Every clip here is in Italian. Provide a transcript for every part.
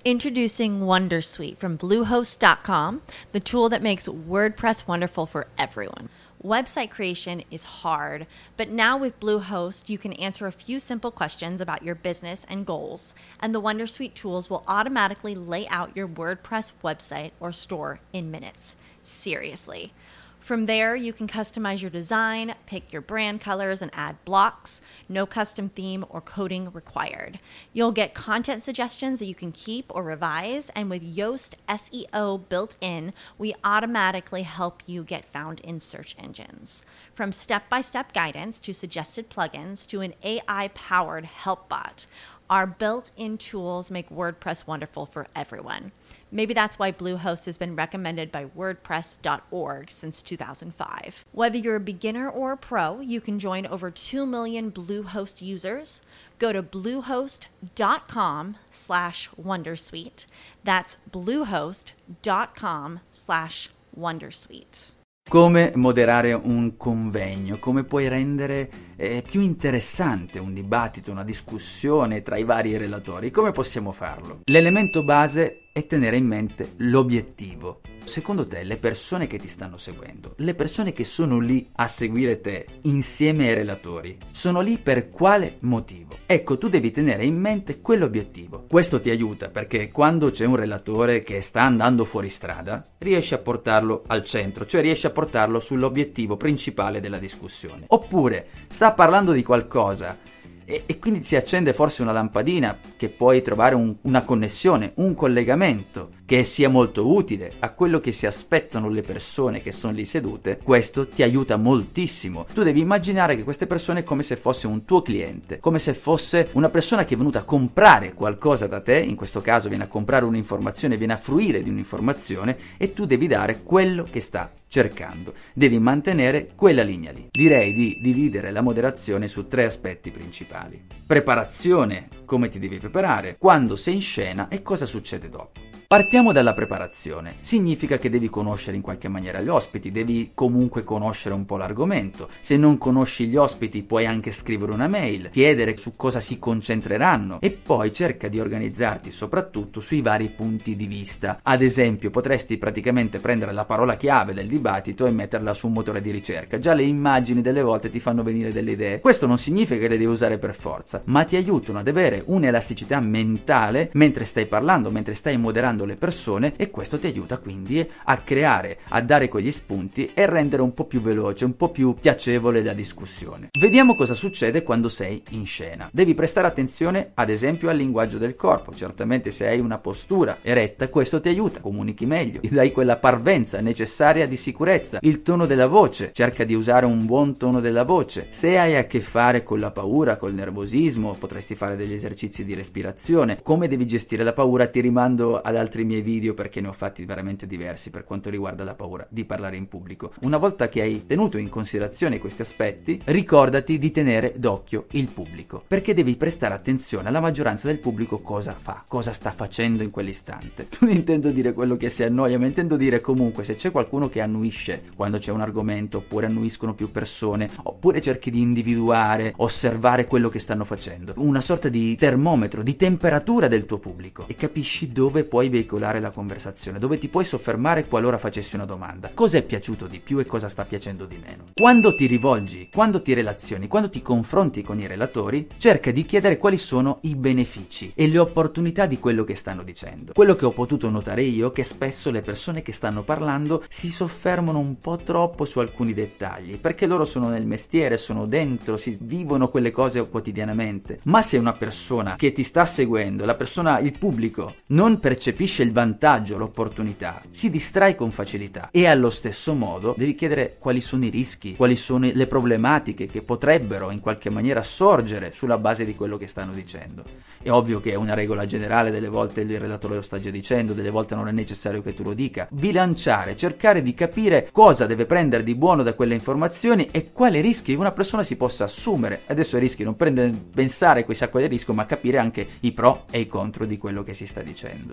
Introducing Wondersuite from Bluehost.com, the tool that makes WordPress wonderful for everyone. Website creation is hard, but now with Bluehost, you can answer a few simple questions about your business and goals, and the Wondersuite tools will automatically lay out your WordPress website or store in minutes. Seriously. From there, you can customize your design, pick your brand colors, and add blocks. No custom theme or coding required. You'll get content suggestions that you can keep or revise, and with Yoast SEO built in, we automatically help you get found in search engines. From step-by-step guidance to suggested plugins to an AI-powered help bot, our built-in tools make WordPress wonderful for everyone. Maybe that's why Bluehost has been recommended by WordPress.org since 2005. Whether you're a beginner or a pro, you can join over 2 million Bluehost users. Go to bluehost.com/wondersuite. That's bluehost.com/wondersuite. Come moderare un convegno, come puoi rendere più interessante un dibattito, una discussione tra i vari relatori, come possiamo farlo? L'elemento base è tenere in mente l'obiettivo. Secondo te le persone che ti stanno seguendo, le persone che sono lì a seguire te insieme ai relatori, sono lì per quale motivo? Ecco, tu devi tenere in mente quell'obiettivo. Questo ti aiuta perché quando c'è un relatore che sta andando fuori strada, riesci a portarlo al centro, cioè riesci a portarlo sull'obiettivo principale della discussione. Oppure sta parlando di qualcosa e quindi si accende forse una lampadina che puoi trovare una connessione, un collegamento che sia molto utile a quello che si aspettano le persone che sono lì sedute. Questo ti aiuta moltissimo. Tu devi immaginare che queste persone è come se fosse un tuo cliente, come se fosse una persona che è venuta a comprare qualcosa da te, in questo caso viene a comprare un'informazione, viene a fruire di un'informazione e tu devi dare quello che sta cercando. Devi mantenere quella linea lì. Direi di dividere la moderazione su 3 aspetti principali. Preparazione, come ti devi preparare, quando sei in scena e cosa succede dopo. Partiamo dalla preparazione. Significa che devi conoscere in qualche maniera gli ospiti, devi comunque conoscere un po' l'argomento. Se non conosci gli ospiti puoi anche scrivere una mail, chiedere su cosa si concentreranno e poi cerca di organizzarti soprattutto sui vari punti di vista. Ad esempio, potresti praticamente prendere la parola chiave del dibattito e metterla su un motore di ricerca. Già le immagini delle volte ti fanno venire delle idee. Questo non significa che le devi usare per forza, ma ti aiutano ad avere un'elasticità mentale mentre stai parlando, mentre stai moderando le persone, e questo ti aiuta quindi a creare, a dare quegli spunti e rendere un po' più veloce, un po' più piacevole la discussione. Vediamo cosa succede quando sei in scena. Devi prestare attenzione ad esempio al linguaggio del corpo. Certamente se hai una postura eretta questo ti aiuta, comunichi meglio, ti dai quella parvenza necessaria di sicurezza. Il tono della voce, cerca di usare un buon tono della voce. Se hai a che fare con la paura, col nervosismo, potresti fare degli esercizi di respirazione. Come devi gestire la paura ti rimando ad altri miei video perché ne ho fatti veramente diversi per quanto riguarda la paura di parlare in pubblico. Una volta che hai tenuto in considerazione questi aspetti, ricordati di tenere d'occhio il pubblico, perché devi prestare attenzione alla maggioranza del pubblico cosa fa, cosa sta facendo in quell'istante. Non intendo dire quello che si annoia, ma intendo dire comunque se c'è qualcuno che annuisce quando c'è un argomento, oppure annuiscono più persone, oppure cerchi di individuare, osservare quello che stanno facendo, una sorta di termometro, di temperatura del tuo pubblico, e capisci dove puoi veicolare la conversazione, dove ti puoi soffermare qualora facessi una domanda. Cosa è piaciuto di più e cosa sta piacendo di meno? Quando ti rivolgi, quando ti relazioni, quando ti confronti con i relatori, cerca di chiedere quali sono i benefici e le opportunità di quello che stanno dicendo. Quello che ho potuto notare io è che spesso le persone che stanno parlando si soffermano un po' troppo su alcuni dettagli, perché loro sono nel mestiere, sono dentro, si vivono quelle cose quotidianamente. Ma se una persona che ti sta seguendo, il pubblico, non percepisce il vantaggio, l'opportunità, si distrae con facilità, e allo stesso modo devi chiedere quali sono i rischi, quali sono le problematiche che potrebbero in qualche maniera sorgere sulla base di quello che stanno dicendo. È ovvio che è una regola generale, delle volte il relatore lo sta già dicendo, delle volte non è necessario che tu lo dica. Bilanciare, cercare di capire cosa deve prendere di buono da quelle informazioni e quali rischi una persona si possa assumere. Adesso i rischi non pensare a quali rischi, ma capire anche i pro e i contro di quello che si sta dicendo.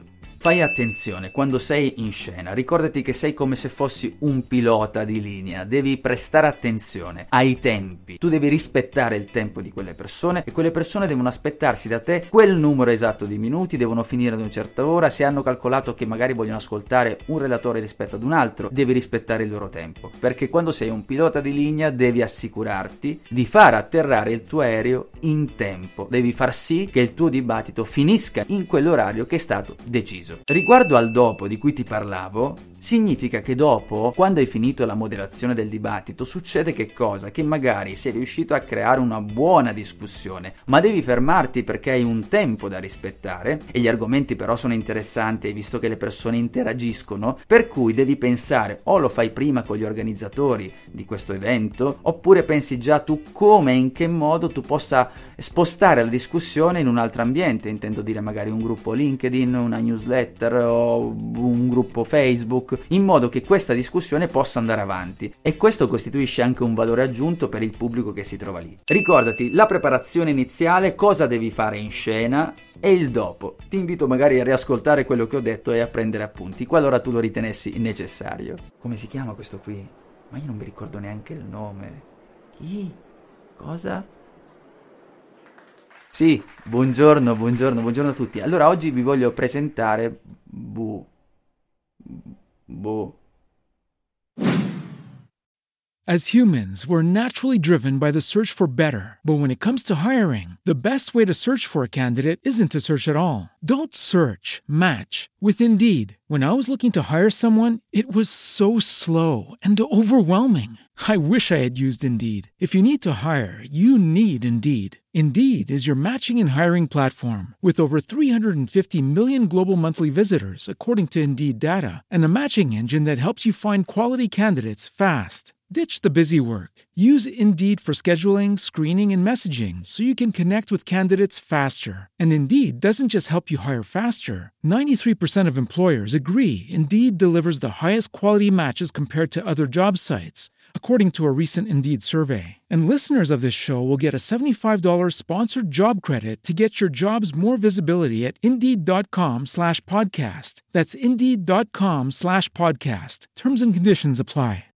Fai attenzione quando sei in scena, ricordati che sei come se fossi un pilota di linea, devi prestare attenzione ai tempi, tu devi rispettare il tempo di quelle persone e quelle persone devono aspettarsi da te quel numero esatto di minuti, devono finire ad una certa ora, se hanno calcolato che magari vogliono ascoltare un relatore rispetto ad un altro, devi rispettare il loro tempo, perché quando sei un pilota di linea devi assicurarti di far atterrare il tuo aereo in tempo, devi far sì che il tuo dibattito finisca in quell'orario che è stato deciso. Riguardo al dopo di cui ti parlavo, significa che dopo, quando hai finito la moderazione del dibattito, succede che cosa? Che magari sei riuscito a creare una buona discussione, ma devi fermarti perché hai un tempo da rispettare e gli argomenti però sono interessanti, hai visto che le persone interagiscono, per cui devi pensare o lo fai prima con gli organizzatori di questo evento, oppure pensi già tu come e in che modo tu possa spostare la discussione in un altro ambiente, intendo dire magari un gruppo LinkedIn, una newsletter o un gruppo Facebook, in modo che questa discussione possa andare avanti, e questo costituisce anche un valore aggiunto per il pubblico che si trova lì. Ricordati la preparazione iniziale, cosa devi fare in scena, e il dopo. Ti invito magari a riascoltare quello che ho detto e a prendere appunti qualora tu lo ritenessi necessario. Come si chiama questo qui? Ma io non mi ricordo neanche il nome. Chi? Cosa? Sì, buongiorno a tutti. Allora oggi vi voglio presentare As humans, we're naturally driven by the search for better. But when it comes to hiring, the best way to search for a candidate isn't to search at all. Don't search, match with Indeed. When I was looking to hire someone, it was so slow and overwhelming. I wish I had used Indeed. If you need to hire, you need Indeed. Indeed is your matching and hiring platform with over 350 million global monthly visitors, according to Indeed data, and a matching engine that helps you find quality candidates fast. Ditch the busy work. Use Indeed for scheduling, screening, and messaging so you can connect with candidates faster. And Indeed doesn't just help you hire faster. 93% of employers agree Indeed delivers the highest quality matches compared to other job sites, according to a recent Indeed survey. And listeners of this show will get a $75 sponsored job credit to get your jobs more visibility at Indeed.com/podcast. That's Indeed.com/podcast. Terms and conditions apply.